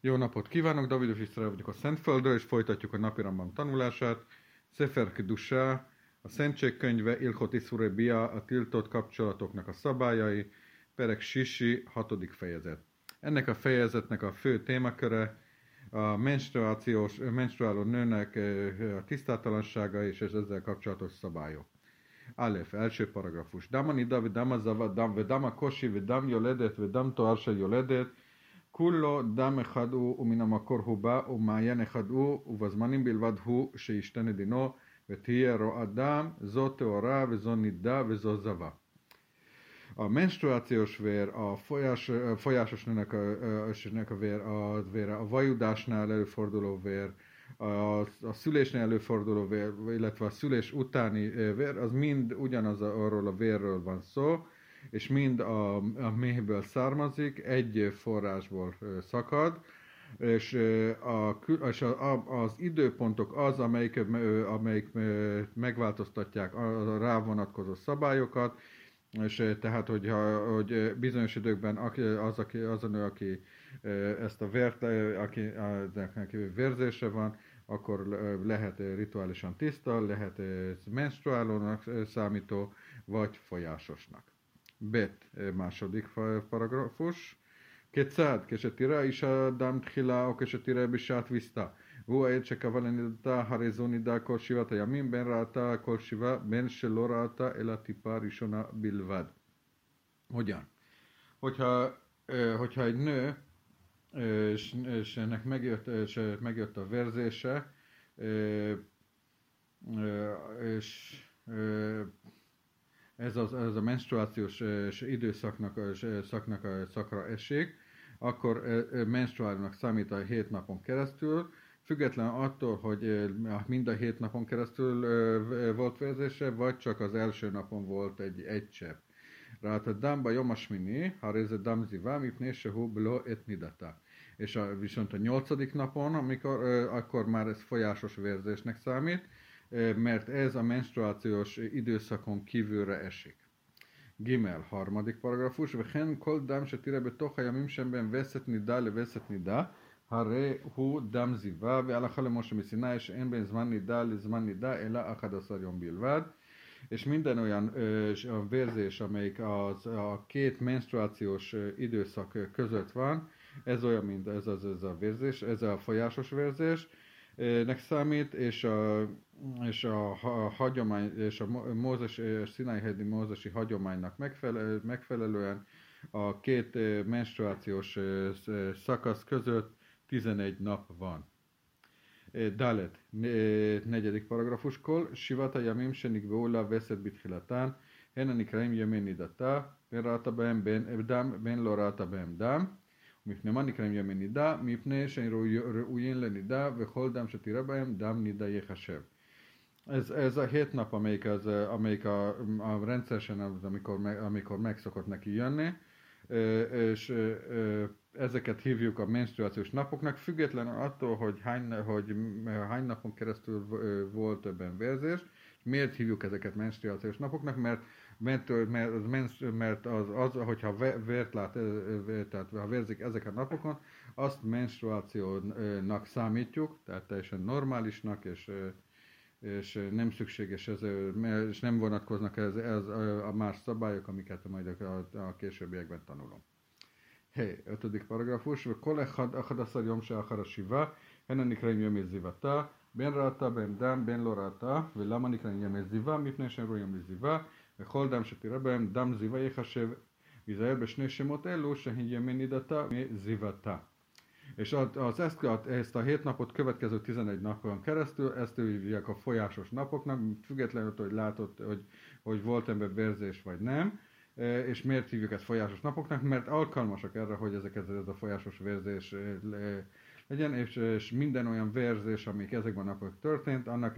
Jó napot kívánok, Davidos Isztrál vagyok a Szentföldről, és folytatjuk a napirambam tanulását. Sefer Kedusha, a Szentség könyve, Ilchot Iszure Bia, a tiltott kapcsolatoknak a szabályai, Perek Sisi, 6. fejezet. Ennek a fejezetnek a fő témaköre a menstruáló nőnek a tisztátalansága és ezzel kapcsolatos szabályok. Alef, első paragrafus. Dama nida, vedama zava, vedama kosi, vedam yoledet, vedam toarsa yoledet, כולו דם אחד הוא ומן המקור הוא בא ומעיין אחד הוא ובזמנים בלבד הוא שישתנה דינו ותהיה רואה דם, זו טהורה וזו נידה וזו זבה. A menstruációs vér, a folyásos nőnek a vér, a vajudásnál előforduló vér, a szülésnél előforduló vér, illetve a szülés utáni vér, az mind arról a vérről van szó, és mind a méhből származik, egy forrásból szakad, és az időpontok az, amelyik megváltoztatják a rá vonatkozó szabályokat, és tehát, hogy bizonyos időkben az a nő, aki ezt a vért, aki vérzése van, akkor lehet rituálisan tiszta, lehet menstruálónak számító, vagy folyásosnak. Bet, második paragrafus. כיצד? כשתראה אישה דם תחילה או כשתראה בשעת ויסתה והוא העד שקבע לנידתה, הרי זו נידה כל 7 הימים, בין ראתה כל 7, בין שלא ראתה אלא טיפה ראשונה בלבד. Hogyan? Hogyha egy nő és ennek megjött a vérzése, és ez a menstruációs szakra esik, akkor menstruálónak számít a 7 napon keresztül, független attól, hogy mind a 7 napon keresztül volt vérzése, vagy csak az első napon volt egy csepp. Ráta dámba jomasmini, ha réze dám zivá, mipné sehú bló et nidata. És viszont a 8. napon, akkor már ez folyásos vérzésnek számít, mert ez a menstruációs időszakon kívülre esik. Gimel, 3. paragrafus. וכן כל דם שתראה בתוך הימים שהם בין וסת נידה לווסת נידה, הרי הוא דם זיווה, והלכה למשה מסיני שאין בין זמן נידה לזמן נידה, אלא 11 יום בלבד. És minden olyan vérzés, amelyik a két menstruációs időszak között van, ez olyan, mint ez a vérzés, ez a folyásos vérzés, nek számít, és a hagyomány, és a Szináj-hegyi mózesi hagyománynak megfelelően a két menstruációs szakasz között 11 nap van. Dalet, 4. paragrafus. Kol sivata yamim שנקבעו לה וסת בתחילתן, הן הנקראים ימי נידתה, בין ראתה בהם דם, בין לא ראתה בהם דם. מפני מה נקראים ימי נידה? מפני שהם ראויים לנידה, וכל דם שתראה בהם, דם נידה יחשב. Ez a 7 nap, amelyik a rendszeresen, amikor meg szokott neki jönni, és ezeket hívjuk a menstruációs napoknak, független attól, hogy hány napon keresztül volt többen vérzés. Miért hívjuk ezeket menstruációs napoknak? Mert hogyha vért lát, tehát ha vérzik ezek a napokon, azt menstruációnak számítjuk, tehát teljesen normálisnak, és nem szükséges, és nem vonatkoznak ez a más szabályok, amiket majd a későbbiekben tanulom. 5. paragrafus. וכל אחד 11 יום שאחר השבעה, הן הנקראים ימי זיוותה, בין ראתה בין דם, בין לא ראתה, ולמה נקראים ימי זיווה? מפני שהם רואים לזיווה, וכל דם שתראה בהם, דם זיווה יחשב, ויזהר בשני שמות אלו, שהן ימי נידתה מזיוותה. És ezt a 7 napot következő 11 napon keresztül, ezt hívják a folyásos napoknak, függetlenül, hogy látod, hogy volt ember vérzés vagy nem. És miért hívjuk ezt folyásos napoknak? Mert alkalmasak erre, hogy ez a folyásos vérzés legyen, és minden olyan vérzés, amik ezekben a napokban történt, annak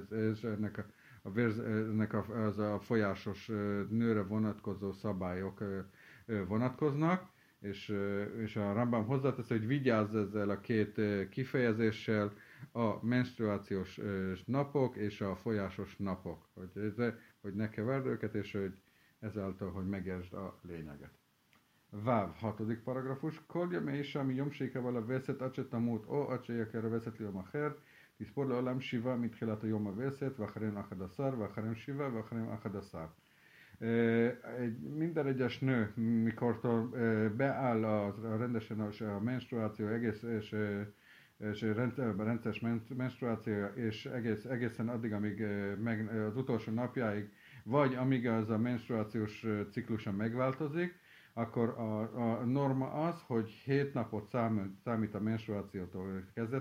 ennek a folyásos nőre vonatkozó szabályok vonatkoznak, és a Rambam hozzátesz, hogy vigyázz ezzel a két kifejezéssel, a menstruációs napok és a folyásos napok, hogy ne keverd őket, és hogy ezáltal, hogy megértsd a lényeget. Váv, hatodik paragrafus. Kol yamei sham yom sheikav veszet acse tamut o acse yaker veszet liom acher, tiszpor leolam shiva mitchilat a yom veszet, vacharem achadaszar, vacharem shiva, vacharem achadaszar. Minden egyes nő, mikor beáll rendesen a menstruáció és rendszeres menstruáció, és egészen addig, amíg az utolsó napjáig, vagy amíg az a menstruációs ciklusa megváltozik, akkor a norma az, hogy 7 napot számít a menstruációtól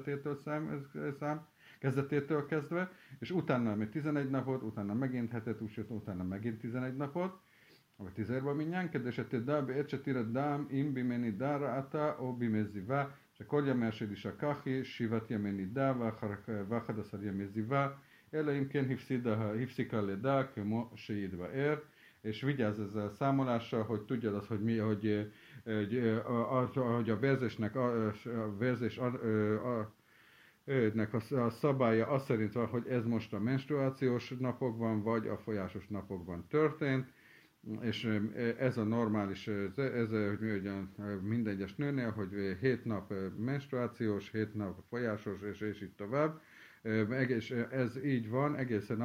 kezdetétől kezdve, és utána még 11 napot, utána megint hetet, utána megint 11 napot, vagy 10-ben minnyán, kedves a tedá, beecse tira dám, im bimeni dára ata, o bimezivá, שכל ימי השליש הכחי, 7 ימי נידה ו11 ימי זיווה, אלא אם כן הפסיקה לידה כמו שיתבאר, és vigyázz ezzel a számolással, hogy tudjad azt, hogy mi, hogy a vérzésnek a szabálya az szerint van, hogy ez most a menstruációs napokban, vagy a folyásos napokban történt, és ez a normális, ez minden egyes nőnél, hogy 7 nap menstruációs, 7 nap folyásos, és így tovább. És ez így van egészen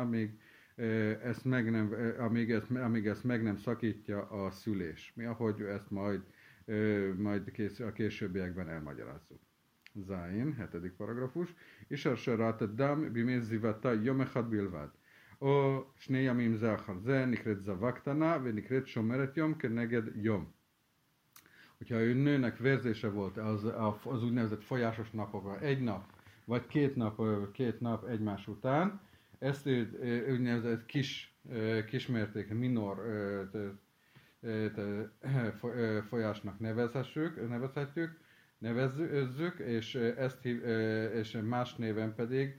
amíg ezt meg nem szakítja a szülés. Mi ahogy ezt majd a későbbiekben elmagyarázzuk. Zain, 7. paragrafus. Isar sarat dam biméz zivata yom echad bilvad. או שני ימים זה אחר זה, נקראת זבה קטנה ונקראת שומרת יום כנגד יום. Hogyha ő nőnek vérzése volt az úgynevezett folyásos napokra, egy nap, vagy két nap egymás után, ezt úgynevezett kismértékű minor folyásnak nevezzük, és más néven pedig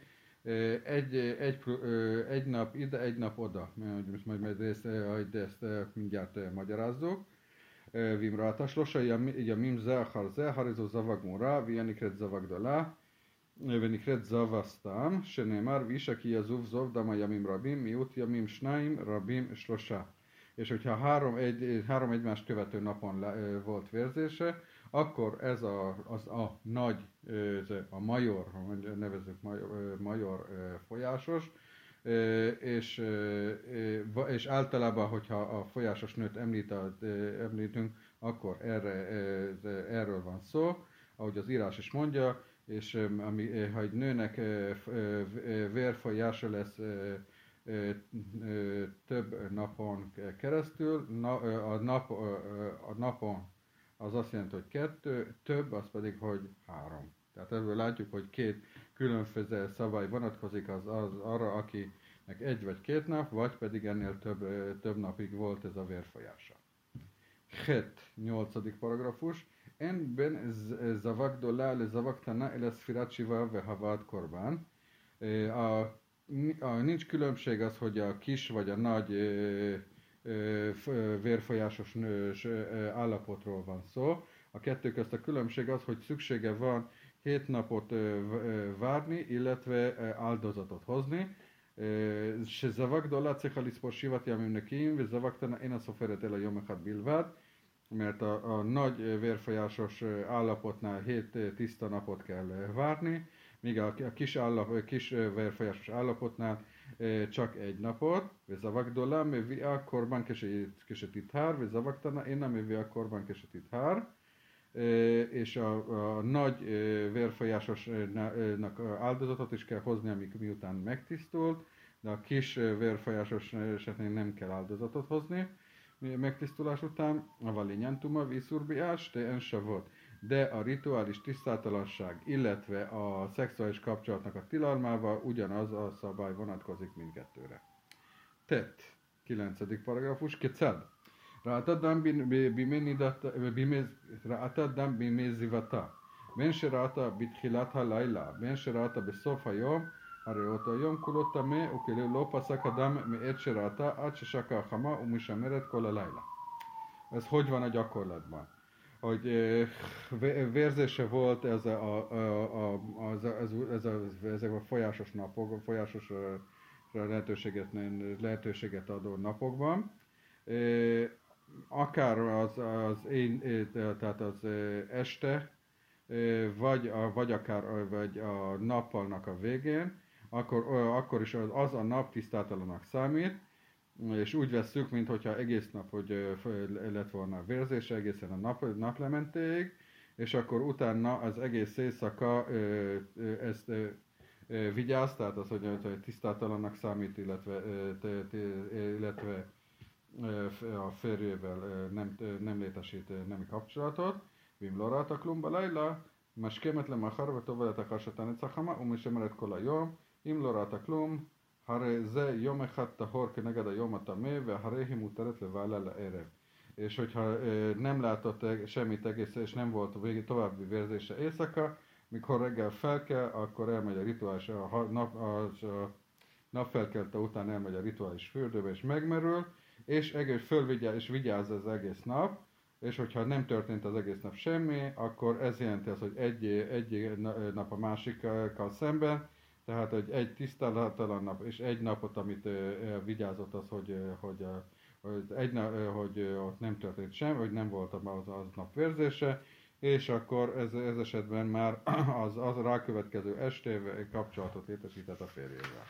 egy nap ide, egy nap oda. Most majd ezt mindjárt magyarázzuk. Vimrata שלושה ימים זה אחר זה, הרי זו זבה גמורה, והיא נקראת זבה גדולה, ונקראת זבה סתם, שנאמר, ואישה כי יזוב זוב דם הימים רבים, מיעוט ימים שניים, רבים שלושה. És hogyha három egymást követő napon volt vérzése, akkor ez a nagy, a major, nevezzük major folyásos, és általában, hogyha a folyásos nőt említünk, akkor erről van szó, ahogy az írás is mondja, és ha egy nőnek vérfolyása lesz több napon keresztül, a napon az azt jelenti, hogy 2, több az pedig, hogy 3. Tehát ebből látjuk, hogy két különböző szabály vonatkozik az arra, akinek 1 vagy 2 nap, vagy pedig ennél több napig volt ez a vérfolyása. 8. paragrafus. En ben zavak dola le zavak tana ele szfirat shiva ve havad korban. Nincs különbség az, hogy a kis vagy a nagy vérfolyásos nős állapotról van szó. A kettő közt a különbség az, hogy szüksége van 7 napot várni, illetve áldozatot hozni. שזבה גדולה צריכה לספור 7 ימים נקיים, וזבה קטנה אינה סופרת אלא יום אחד בלבד, mert a nagy vérfolyásos állapotnál 7 tiszta napot kell várni, míg a kis vérfolyásos állapotnál csak 1 napot, וזבה גדולה מביאה קורבן כשתטהר, וזבה קטנה אינה מביאה קורבן כשתטהר, és a nagy vérfolyásosnak áldozatot is kell hozni, miután megtisztult, de a kis vérfolyásos esetén nem kell áldozatot hozni megtisztulás után. A valinyantuma vízurbiás, te ensavot. De a rituális tisztátalanság, illetve a szexuális kapcsolatnak a tilalmával ugyanaz a szabály vonatkozik mindkettőre. Tett, 9. paragrafus, kecad. ראתה דם בימי זיוותה, בין שראתה בתחילת הלילה, בין שראתה בסוף היום, הרי אותו יום כולו טמא, וכאילו לא פסק הדם מעת שראתה עד ששקע החמה ומשמרת כל הלילה. Ez hogy van a gyakorlatban? Hogy vérzése volt ezek a folyásos napok, folyásos lehetőséget adó napokban, akár tehát az este, vagy akár vagy a nappalnak a végén, akkor is az a nap tisztátalanak számít, és úgy vesszük, mintha egész nap, hogy lett volna vérzése egészen a naplementéig, és akkor utána az egész éjszaka ezt vigyáz, tehát az, hogy tisztátalannak számít, illetve a férjével nem létesít nemi kapcsolatot. Vim lorata klum balayla, משכמת למחר וטובלת אחר שתנץ החמה ומשמרת כל היום. אם לא ראתה כלום, הרי זה יום אחד טהור כנגד היום הטמא, והרי היא מותרת לבעלה לערב. És hogyha nem látott semmit egész, és nem volt további vérzése éjszaka, mikor reggel felkel, akkor elmegy a rituális, a napfelkelte után elmegy a rituális fürdőbe, és megmerül, és és vigyáz az egész nap, és hogyha nem történt az egész nap semmi, akkor ez jelenti azt, hogy egy nap a másikkal szemben, tehát egy tisztátalan nap, és egy napot, amit vigyázott az, hogy ott nem történt semmi, hogy nem volt az nap vérzése, és akkor ez esetben már az rákövetkező estével kapcsolatot létesített a férjével.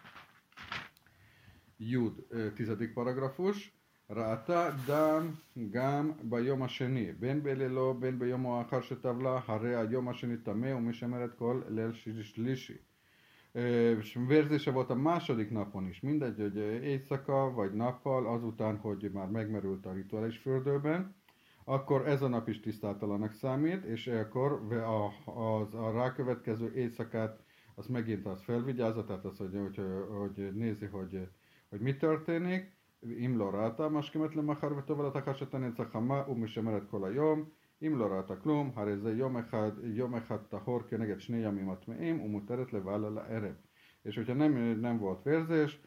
Jud, 10. paragrafus. ראתה דם גם ביום השני, בין בלילו בין ביום האחר שטבלה, הרי היום השני טמא ומשמרת כל ליל שלישי. Vérzése volt a második napon is, mindegy, hogy éjszaka vagy nappal, azután, hogy már megmerült a rituális fürdőben, akkor ez a nap is tisztátalanak számít, és akkor a rákövetkező éjszakát az megint az felvigyázza, tehát az, hogy nézi, hogy mi történik. אם לא ראתה משכמת למחר וטובלת אחר שתנץ החמה ומשמרת כל היום. אם לא ראתה כלום, הרי זה יום אחד טהור כנגד שני ימים הטמאים ומותרת לבעלה לערב. És hogyha nem volt vérzés,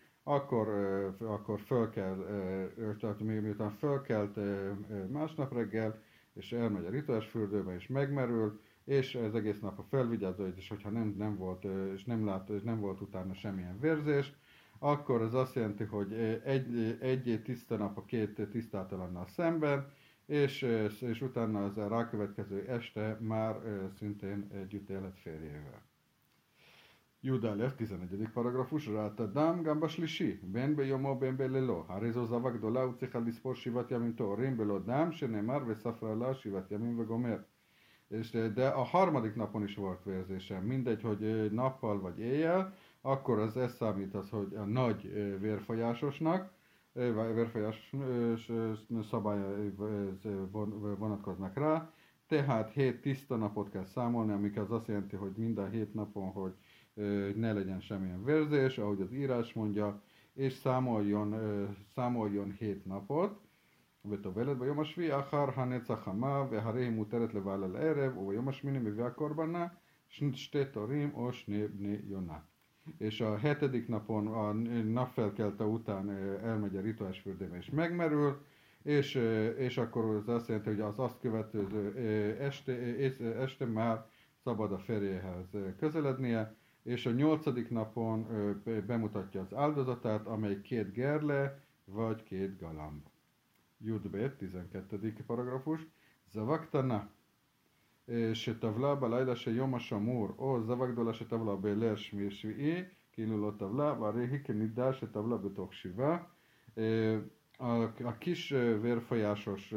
akkor föl kell, tehát miután fölkelt másnap reggel, és elmegy a rituális fürdőbe, és megmerül, és ez egész nap a felvigyázó, és hogyha nem volt, és nem volt utána semmilyen vérzés, akkor ez azt jelenti, hogy egy tiszta nap a két tisztátalannal szemben, és utána az a rákövetkező este már szintén együtt élet férjével. Judalev, 11. paragrafus, ráta dám gamba slishi, ben ביומו ben בלילו, הרי זו זבה גדולה וצריכה לספור 7 ימים טהורים בלא דם, שנאמר וספרה לה 7 ימים וגומר. De a harmadik napon is volt vérzése, mindegy, hogy nappal vagy éjjel, akkor ez számít az, hogy a nagy vérfolyásosnak, vérfolyásos szabályai vonatkoznak rá, tehát 7 tiszta napot kell számolni, amik az azt jelenti, hogy minden 7 napon, hogy ne legyen semmilyen vérzés, ahogy az írás mondja, és számoljon 7 napot. וטובלת ביום השביעי אחר הנץ החמה, והרי היא מותרת לבעל על הערב, וביום השמיני מביאה קורבנה שתי תורים או שני בני יונה. És a 7. napon, a napfelkelte után elmegy a rituális fürdőbe és megmerül, és akkor ez azt jelenti, hogy az azt követő este már szabad a férjéhez közelednie, és a 8. napon bemutatja az áldozatát, amely 2 gerle vagy 2 galamb. י"ב, 12. paragrafus, זבה קטנה שטבלה בלילה של יום השמור, או זבה גדולה שטבלה בליל שביעי, כאילו לא טבלה, והרי היא כנידה שטבלה בתוך 7. A kis vérfolyásos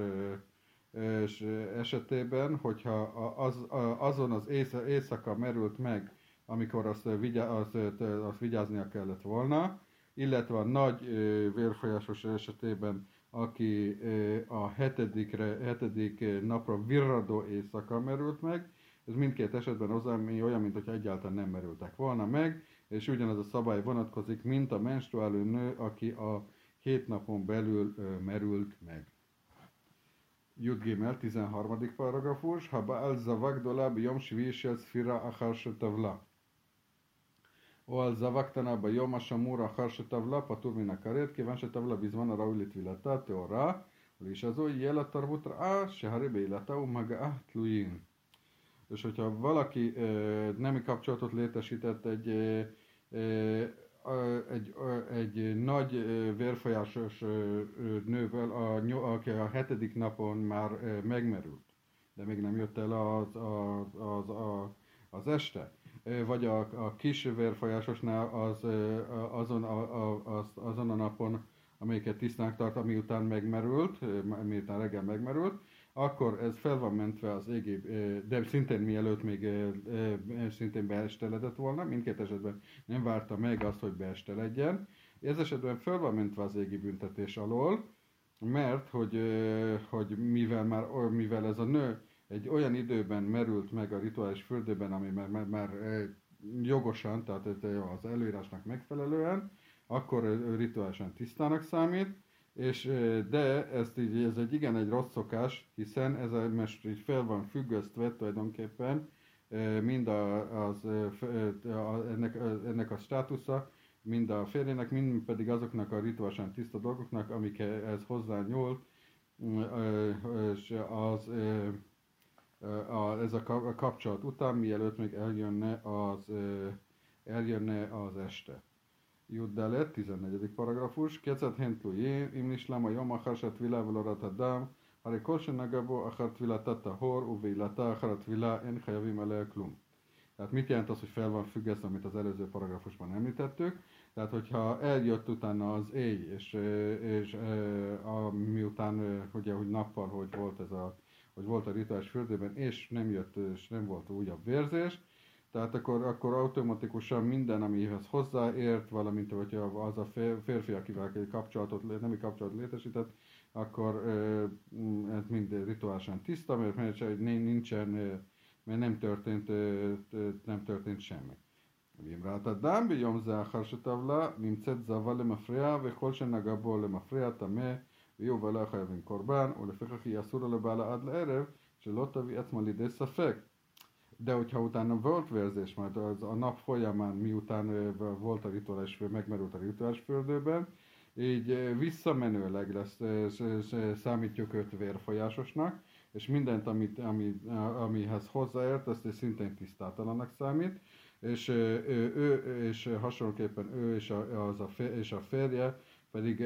esetében, hogyha azon az éjszaka merült meg, amikor azt vigyáznia kellett volna, illetve a nagy vérfolyásos esetében, aki a 7. napra virradó éjszaka merült meg, ez mindkét esetben olyan, mint hogyha egyáltalán nem merültek volna meg, és ugyanaz a szabály vonatkozik, mint a menstruáló nő, aki a 7 napon belül merült meg. Jud Gimel, 13. paragrafus, ha Baal zava gdola biyom shvi'i shel sfira achar shetavla. או על זבה קטנה ביום השמור אחר שטבלה פטור מן הכרת, כיוון שטבלה בזמן הראוי לטבילתה טהורה, ולאישה זו יהיה לה תרבות רעה, שהרי בעילתה ומגעה תלויים. És hogyha valaki nemi kapcsolatot létesített egy nagy vérfolyásos nővel, aki a 7. napon már megmerült, de még nem jött el az este. Vagy a kis vérfolyásosnál azon a napon, amelyiket tisztának tart, miután megmerült, miután reggel megmerült, akkor ez fel van mentve az égi, de szintén mielőtt még szintén beesteledett volna, mindkét esetben nem várta meg azt, hogy beesteledjen. Ez esetben fel van mentve az égi büntetés alól, mert hogy mivel ez a nő egy olyan időben merült meg a rituális fürdőben, ami már jogosan, tehát az előírásnak megfelelően, akkor rituálisan tisztának számít, de ez egy rossz szokás, hiszen ez most így fel van függesztve tulajdonképpen mind ennek a státusza, mind a férjének, mind pedig azoknak a rituálisan tiszta dolgoknak, amikhez hozzányúlt, és ez a kapcsolat után, mielőtt még eljönne az este. Juddalet, 14. paragrafus. Kecet hentlujé, imnislam a jom achar tvila velorat adam, hare kol senagabo achar tvila tahor, uveilata achar tvila en chayavim alea klum. Tehát mit jelent az, hogy fel van függesztve, amit az előző paragrafusban említettük? Tehát, hogyha eljött utána az éj, és miután, ugye, hogy nappal, hogy volt a rituális fürdőben, és nem volt újabb vérzés, tehát akkor automatikusan minden, amihez hozzáért, valamint hogyha az a férfi, akivel nemi kapcsolatot létesített, akkor ez mind rituálisan tiszta, mert nem történt semmi. ואם ראת אדם ביום זה אחר שטבלה, נמצאת זבה למפרע, וכל שנגע בו למפרע טמא, ויהיו לא חייבים קורבן, ולפיכך יהיה אסור לבעלה עד לערב, שלא תביא עצמה לידי ספק. De hogyha utána volt vérzés, majd a nap folyamán, miután volt a rituális, megmerült a rituális fürdőben, így visszamenőleg számítjuk őt vérfolyásosnak, és mindent, amihez hozzáért, azt szintén tisztátalannak számít, és hasonlóképpen ő és a férje pedig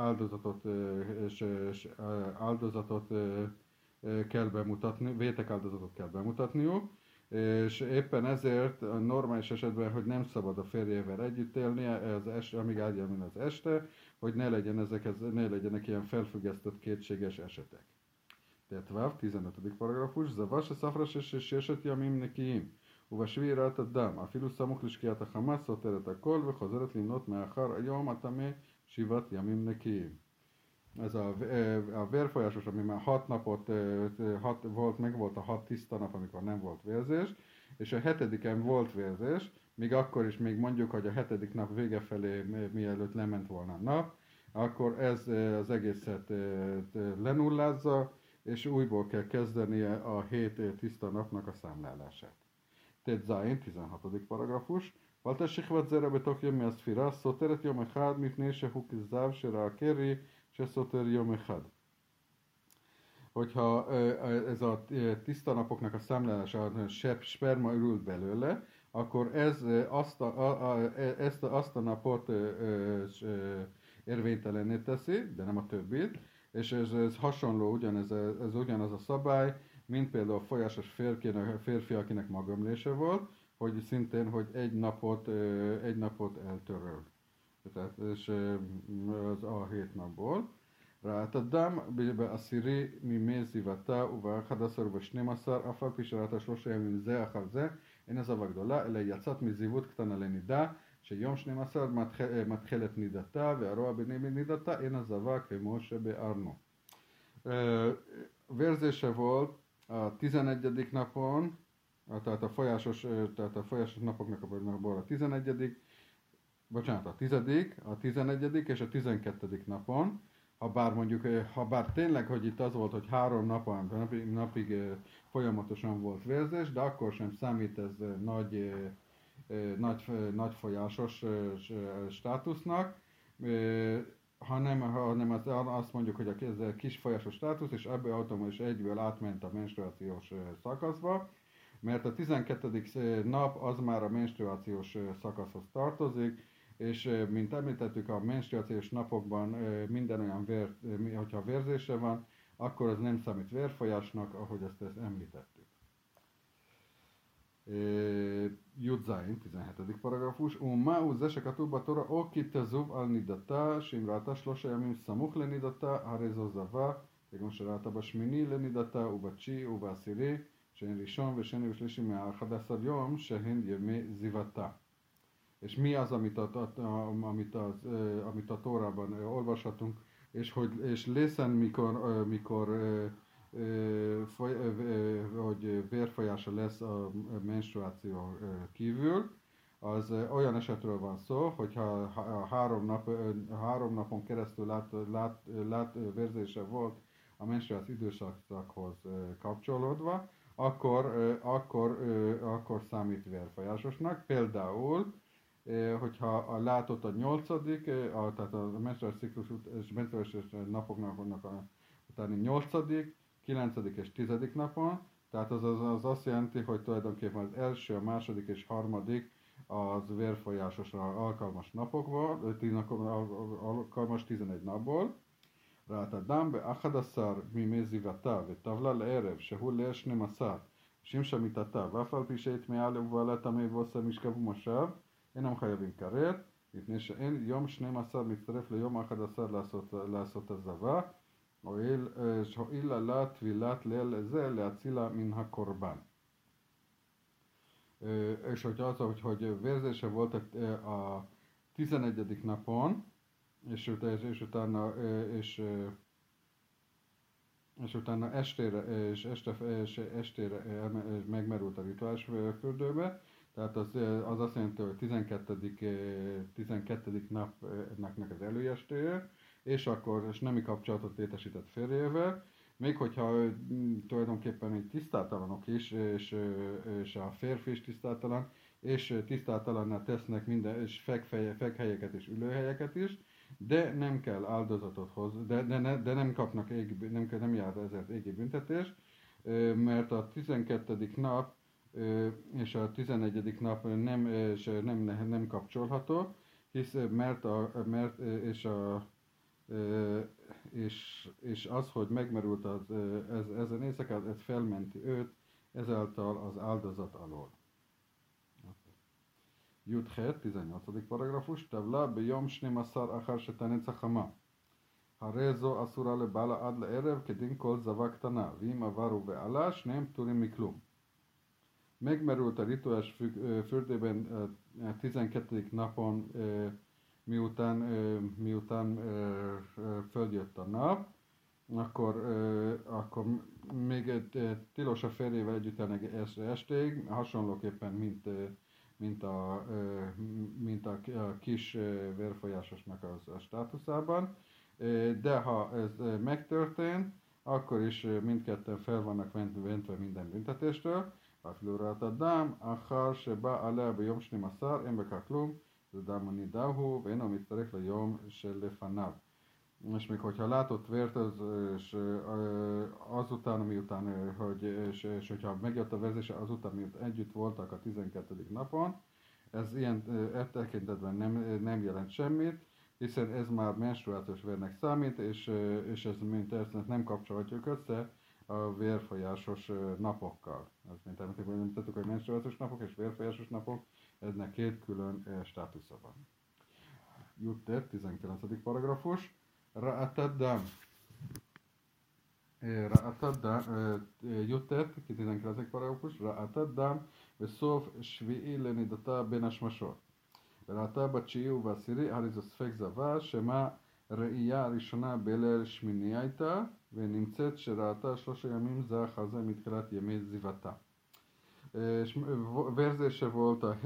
áldozatot kell bemutatni, vétek áldozatot kell bemutatniuk, és éppen ezért a normális esetben, hogy nem szabad a férjével együtt élnie, amíg eljön az este, hogy ne legyenek ilyen felfüggesztett kétséges esetek. Tehát 15. paragrafus, Zavas a szafras és eset jamim nekiim. ובשביעי ראת הדם, אפילו סמוך לשקיעת החמה, סותרת הכל וחוזרת למנות מאחר היום הטמא 7 ימים נקיים. Ez a vérfolyásos, ami már 6 napot megvolt a 6 tiszta nap, amikor nem volt vérzés, és a 7-en volt vérzés, még akkor is még mondjuk, hogy a 7. nap vége felé, mielőtt lement volna a nap, akkor ez az egészet lenullázza, és újból kell kezdenie a 7 tiszta napnak a számlálását. ט"ז, 16. paragrafus. ועלתה שכבת זרע בתוך ימי הספירה, סותרת יום אחד מפני שהוא כזב שראה קרי שסותר יום אחד. Hogyha ez a tiszta napoknak a számlálása, sperma ürült belőle, akkor ez azt a napot érvénytelenné teszi, de nem a többit, és ez hasonló, ez ugyanaz a szabály, mint például a folyásos férfi, akinek magömlése volt, hogy szintén, hogy egy napot eltöröl. Tehát, és az a 7 napból. ראת אדם בעשירי מימי זיוותה וב-11 וב-12 אף על פי שראתה 3 ימים זה אחר זה אין עזבה גדולה אלא יצאת מזיוות קטנה לנידה שיום 12 מתחילת נידתה והרוע בני נידתה אין עזבה כמו שבארנו. Vérzése volt a 11. napon, tehát a folyásos napoknak a 11. Bocsánat, a 10., a 11. és a 12. napon, ha bár tényleg, hogy itt az volt, hogy 3 napig folyamatosan volt vérzés, de akkor sem számít ez nagy folyásos státusznak, hanem azt mondjuk, hogy ez a kis folyásos státusz, és ebből automatikusan egyből átment a menstruációs szakaszba, mert a 12. nap az már a menstruációs szakaszhoz tartozik, és mint említettük, a menstruációs napokban minden olyan hogyha vérzése van, akkor az nem számít vérfolyásnak, ahogy ezt említettük. Judzain, 17. paragrafus. Umau זה שכתוב בתורה או כי תזוב על נידתה, שאם ראתה 3 ימים סמוך לנידתה, הרי זו זבה, כגון שראתה בשמיני לנידתה ובתשיעי ובעשירי, שהן ראשון ושני ושלישי מה-11 יום, שהן ימי זיבתה. És mi az, amit a Tórában olvashatunk, és lészen, mikor hogy vérfolyása lesz a menstruáció kívül, az olyan esetről van szó, hogyha 3 napon keresztül vérzése volt a menstruáció időszakhoz kapcsolódva, akkor számít vérfolyásosnak. Például, hogyha látott a 8., tehát a menstruációs napoknak utáni 8., 9. és 10. napon, tehát az azt jelenti, hogy tulajdonképpen az első, a második és harmadik az vérfolyásosra alkalmas napokból, alkalmas 11 napból. ראת אדם ב-11 מימי זיוותה וטבלה לערב שהוא ליל 12 שמשה מיתתה ואף על פי שהטמעה ובעלה טמא ועושה משכב ומושב אינם חייבים כרת מפני שאין יום 12 להצטרף ליום 11 לעשות הזבה הועיל לה טבילת ליל זה להצילה מן הקורבן. És hogyha az, hogy vérzése volt a 11. napon, és utána estére megmerült a rituális fürdőbe, tehát az azt jelenti, hogy 12. napnak az előestéje, és nemi kapcsolatot létesített férjével, még hogyha tulajdonképpen egy tisztátalanok is, és a férfi is tisztátalan, és tisztátalannál tesznek minden, és fekhelyeket és ülőhelyeket is, de nem kell áldozatot hozni, de nem kapnak nem jár ezért égi büntetés, mert a 12. nap és a 11. nap nem kapcsolható, és az, hogy megmerült ezen éjszakát, ez felmenti őt ezáltal az áldozat alól. י"ח, 18. פרגרפוש, טבלה ביום 12 אחר שתנצח חמה. הרי זו אסורה לבעלה עד לערב כדין כל זבה קטנה, ואם עברו ועלה, שניהם פטורים מכלום. Megmerült a rituális fürdőben 12. napon, miután följött a nap, akkor még tilos a férjével együtt elni estéig, hasonlóképpen, mint a kis vérfolyásosnak a státuszában, de ha ez megtörtént, akkor is mindketten fel vannak mentve minden büntetéstől. אפילו ראת אדם אחר שבא עליה ביום 12 אין בכך כלום, זה דם הנידה הוא ואינו מצטרף ליום שלפניו. És még hogyha látott vért, és azután, miután, és hogyha megjött a verzése azután, miután együtt voltak a 12. napon, ez ilyen tekintetben nem jelent semmit, hiszen ez már menstruációs vérnek számít, és ez mint ezt nem kapcsolhatjuk össze a vérfolyásos napokkal. Ez mint említettük, hogy menstruációs napok és vérfolyásos napok, eznek két külön státusza van. Jutter, 19. paragrafus. Ra'atad-dam. Jutter, 19. paragrafus. Ra'atad-dam בסוף שביעי לנידתה בין השמשות. וראתה בתשיעי ובעשירי, הרי זו ספק זבה, שמה ראייה הראשונה בליל שמיני הייתה, ונמצאת שראתה 3 ימים זה אחר זה מתחילת ימי זיוותה. Vérzése volt a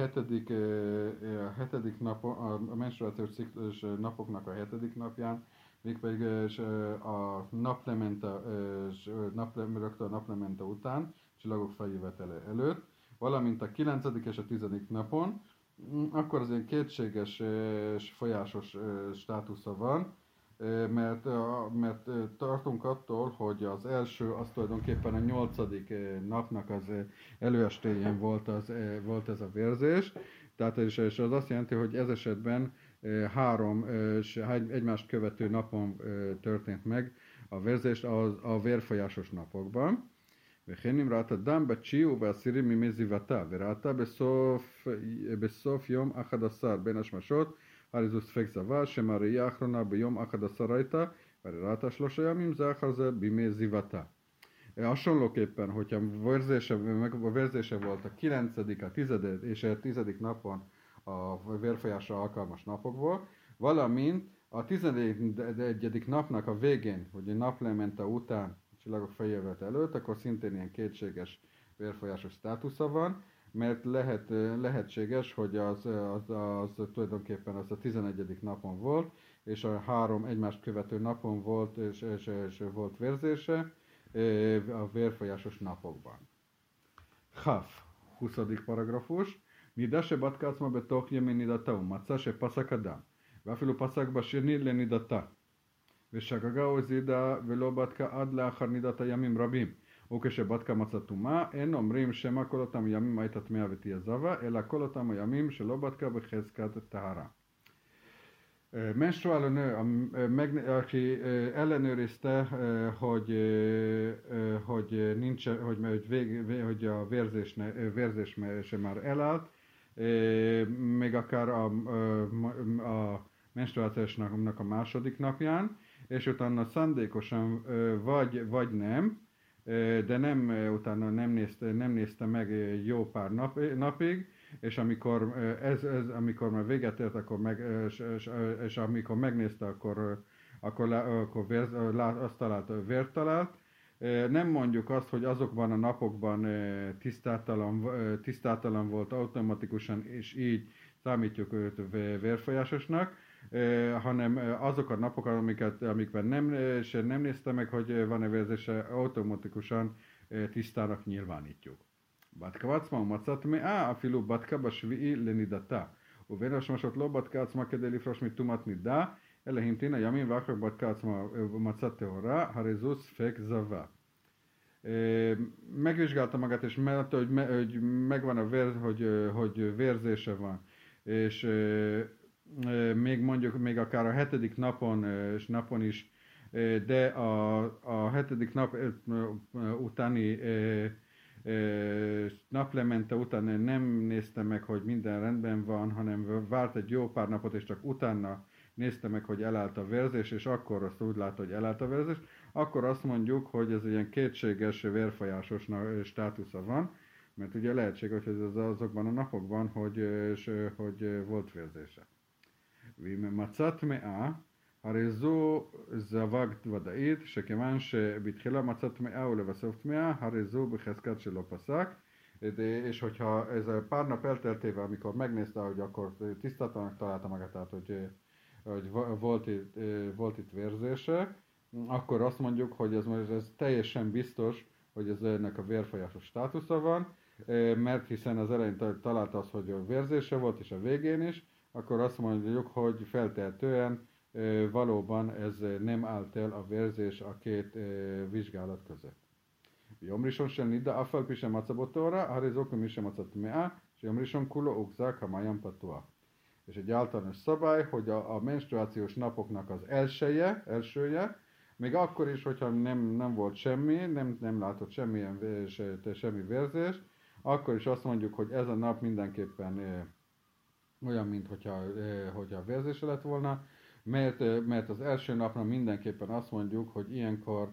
7. napon, a menstruációs ciklus napoknak a 7. napján, mégpedig a rögtön a naplemente után, csillagok feljövetele előtt, valamint a 9. és a 10. napon, akkor az ilyen kétséges folyásos státusza van, mert tartunk attól, hogy az első, az tulajdonképpen a 8. napnak az előestéjén volt ez a vérzés, tehát és az azt jelenti, hogy ez esetben három egymást követő napon történt meg a vérzés a vérfolyásos napokban. וכן אם ראת הדם בתשיעי ובעשירי מימי זיוותה, וראתה בסוף יום 11 בין השמשות, הרי זו ספק זבה, שמראייה האחרונה ביום 11 הייתה, והרי ראתה 3 ימים זה אחר זה בימי זיוותה. Hasonlóképpen, hogyha vérzése volt a 9., a 10. és a 10. napon a vérfolyásra alkalmas napokból, valamint a 11. napnak a végén, hogy a naplemente után, a csillagok feljövet előtt, akkor szintén ilyen kétséges vérfolyásos státusza van, mert lehetséges, hogy az tulajdonképpen az a 11. napon volt, és a 3 egymást követő napon volt, és volt vérzése a vérfolyásos napokban. Chaf, 20. paragrafus. נידה שבדקה עצמה בתוך ימי נידתה ומצא שפסק אדם ואפילו פסק בשני לנידתה ושגגה או הזידה ולא בדקה עד לאחר נידת הימים רבים וכשבדקה מצא טומאה אין אומרים שמא כל אותם ימים הייתה טמאה ותהיה זבה אלא כל אותם הימים שלא בדקה בחזקת טהרה. Menstruáló nő, aki ellenőrizte, hogy a vérzés sem már elállt, még akár a menstruációsnak a második napján, és utána szándékosan vagy nem, de utána nem nézte meg jó pár napig, és amikor már véget ért, és amikor megnézte, akkor azt találta, vért talált. Nem mondjuk azt, hogy azokban a napokban tisztátalan volt automatikusan, és így számítjuk őt vérfolyásosnak, hanem azok a napok, amikben nem nézte meg, hogy van-e vérzése, automatikusan tisztának nyilvánítjuk. בדקה עצמה ומצא טמאה, אפילו בדקה בשביעי לנידתה. ובין השמשות לא בדקה עצמה כדי לפרוש מטומאת נידה, אלא המתינה ימים ואחר בדקה עצמה ומצא טהורה, הרי זו ספק זבה. Megvizsgálta magát, és látta, hogy megvan hogy vérzése van. És még akár a 7. napon is, de a 7. nap utáni naplemente után nem nézte meg, hogy minden rendben van, hanem várt egy jó pár napot, és csak utána nézte meg, hogy elállt a vérzés, és akkor azt úgy látta, hogy elállt a vérzés, akkor azt mondjuk, hogy ez ilyen kétséges vérfolyásos státusza van, mert ugye lehetséges, hogy ez azokban a napokban, hogy volt vérzése. מצא טמאה, הרי זו זווג ודאית, שכיוון שבתחילה מצא טמאה ולבסוף טמאה, הרי זו בחזקת שלא פסק, és hogyha ez a pár nap elteltével, amikor megnézte, hogy akkor tisztátalannak találta magát, tehát hogy volt itt vérzése, akkor azt mondjuk, hogy ez teljesen biztos, hogy ez ennek a vérfolyásos státusza van, mert hiszen az elején találta azt, hogy a vérzése volt, és a végén is, akkor azt mondjuk, hogy feltehetően valóban ez nem állt el a vérzés a két vizsgálat között. ביום ראשון של נידה, אף על פי שמצא בו טהרה, הרי זו כמי שמצא טמאה, שיום ראשון כולו הוחזק המעיין פתוח. És egy általános szabály, hogy a menstruációs napoknak az elsője, még akkor is, hogyha nem volt semmi, nem látott semmi vérzés, akkor is azt mondjuk, hogy ez a nap mindenképpen olyan, mint hogyha vérzése lett volna, mert az első napra mindenképpen azt mondjuk, hogy ilyenkor,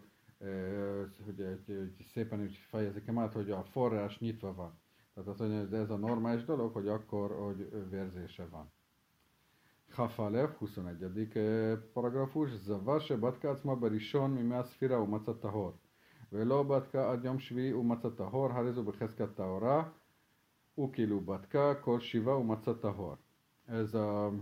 hogy szépen úgy fejezik át, hogy a forrás nyitva van. Tehát azt mondja, hogy ez a normális dolog, hogy akkor, hogy vérzése van. Chafalev, 21. paragrafus, זבה שבדקה עצמה בראשון מימי הספירה ומצא טהור, ולא בדקה עד יום שביעי ומצא טהור, הרי זו בחזקת טהורה, וכאילו בדקה כל 7 ומצא טהור. Ez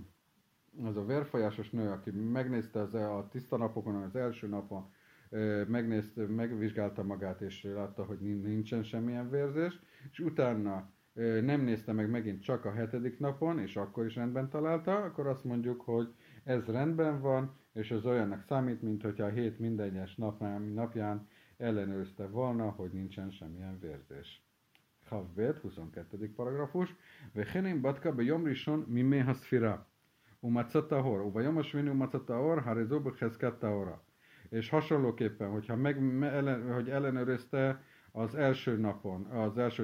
a vérfolyásos nő, aki megnézte a tiszta napokon, az első napon, megvizsgálta magát, és látta, hogy nincsen semmilyen vérzés, és utána nem nézte meg megint csak a 7. napon, és akkor is rendben találta, akkor azt mondjuk, hogy ez rendben van, és ez olyannak számít, mint hogyha a 7 minden egyes napján ellenőrizte volna, hogy nincsen semmilyen vérzés. Chavbet, 22. paragrafus, וכן אם בדקה ביום ראשון מימי הספירה, umatzatahor, uva Shmini umatzatahor, harizó bechezket tahora. És hasonlóképpen, hogyha hogy ellenőrizte az első napon, az első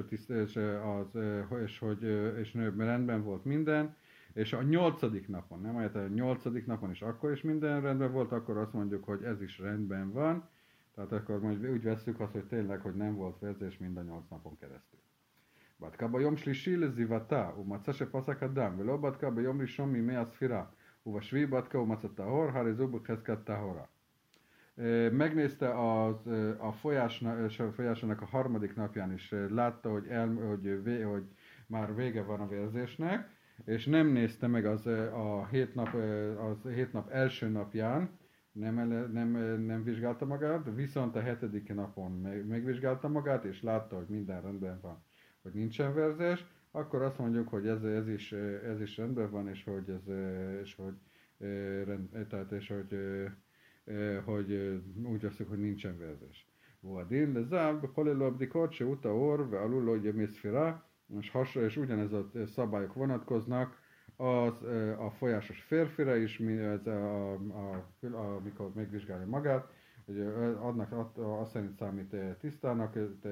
és rendben volt minden, és a 8. napon, nem a 8. napon is akkor is minden rendben volt, akkor azt mondjuk, hogy ez is rendben van, tehát akkor majd úgy vesszük azt, hogy tényleg, hogy nem volt vérzés mind a 8 napon keresztül. בדקה ביום שלישי לזיוותה, ומצא שפסק הדם, ולא בדקה ביום ראשון מימי הספירה, ובשביעי בדקה ומצא טהור, הרי זו בחזקת טהורה. Megnézte a folyásának a harmadik napján is, látta, hogy már vége van a vérzésnek, és nem nézte meg az 7 nap első napján, nem vizsgálta magát, viszont a 7. napon megvizsgálta magát, és látta, hogy minden rendben van, hogy nincsen vérzés, akkor azt mondjuk, hogy ez is rendben van, hogy úgy veszük, hogy nincsen vérzés. Vadin, de záv, bekolélő abdikot, se uta orr, ve alul, hogy mészfira, és ugyanez a szabályok vonatkoznak a folyásos férfire is, amikor megvizsgálja magát, hogy azt szerint számít tisztának,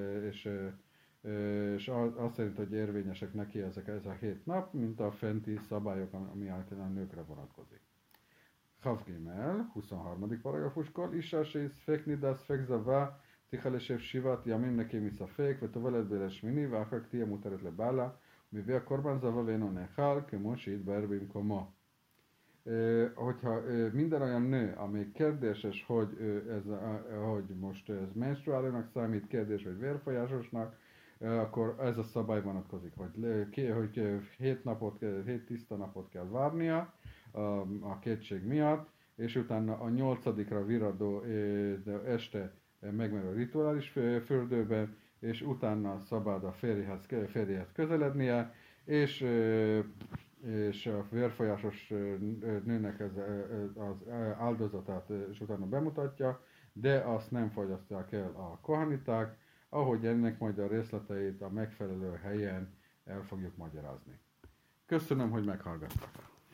és azt szerint, hogy érvényesek neki ez a 7 nap, mint a fenti szabályok, ami általán a nőkre vonatkozik. Havgimel, 23. paragrafuskor, Isha שספק נידה ספק זבה, צריכה לשב 7 ימים נקי מספק, וטובלת בליל שמיני, ואחר כך תהיה מותרת לבעלה, ומביא הקורבן זבה ואינו נאכל, כמו שהתבאר במקומו. Hogyha minden olyan nő, ami kérdéses, hogy most ez menstruálónak számít, kérdés, vagy vérfolyásosnak, akkor ez a szabály vonatkozik, hogy 7 tiszta napot kell várnia a kétség miatt, és utána a 8-ra viradó este megmerül a rituális fürdőben, és utána szabad a férjhez közelednie, és a vérfolyásos nőnek az áldozatát és utána bemutatja, de azt nem fogyasztják el a kohaniták, ahogy ennek majd a részleteit a megfelelő helyen el fogjuk magyarázni. Köszönöm, hogy meghallgattak!